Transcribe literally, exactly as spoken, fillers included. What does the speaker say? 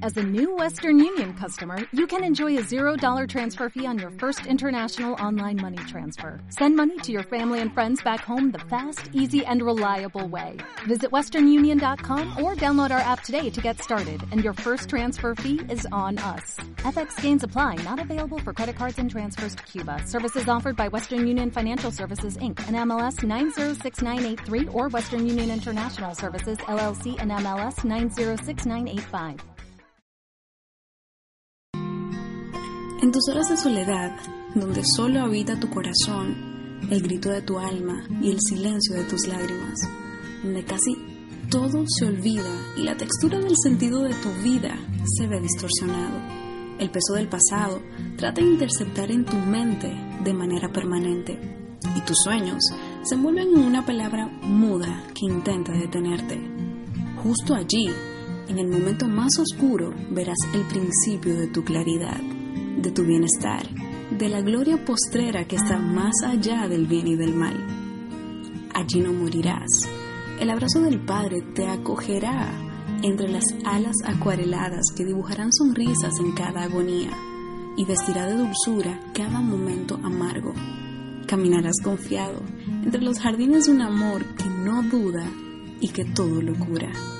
As a new Western Union customer, you can enjoy a zero dollars transfer fee on your first international online money transfer. Send money to your family and friends back home the fast, easy, and reliable way. Visit western union dot com or download our app today to get started, and your first transfer fee is on us. F X gains apply, not available for credit cards and transfers to Cuba. Services offered by Western Union Financial Services, Incorporated, and M L S nine zero six nine eight three or Western Union International Services, L L C, and M L S nine zero six nine eight five. En tus horas de soledad, donde solo habita tu corazón, el grito de tu alma y el silencio de tus lágrimas, donde casi todo se olvida y la textura del sentido de tu vida se ve distorsionado, el peso del pasado trata de interceptar en tu mente de manera permanente y tus sueños se envuelven en una palabra muda que intenta detenerte. Justo allí, en el momento más oscuro, verás el principio de tu claridad, de tu bienestar, de la gloria postrera que está más allá del bien y del mal. Allí no morirás. El abrazo del Padre te acogerá entre las alas acuareladas que dibujarán sonrisas en cada agonía y vestirá de dulzura cada momento amargo. Caminarás confiado entre los jardines de un amor que no duda y que todo lo cura.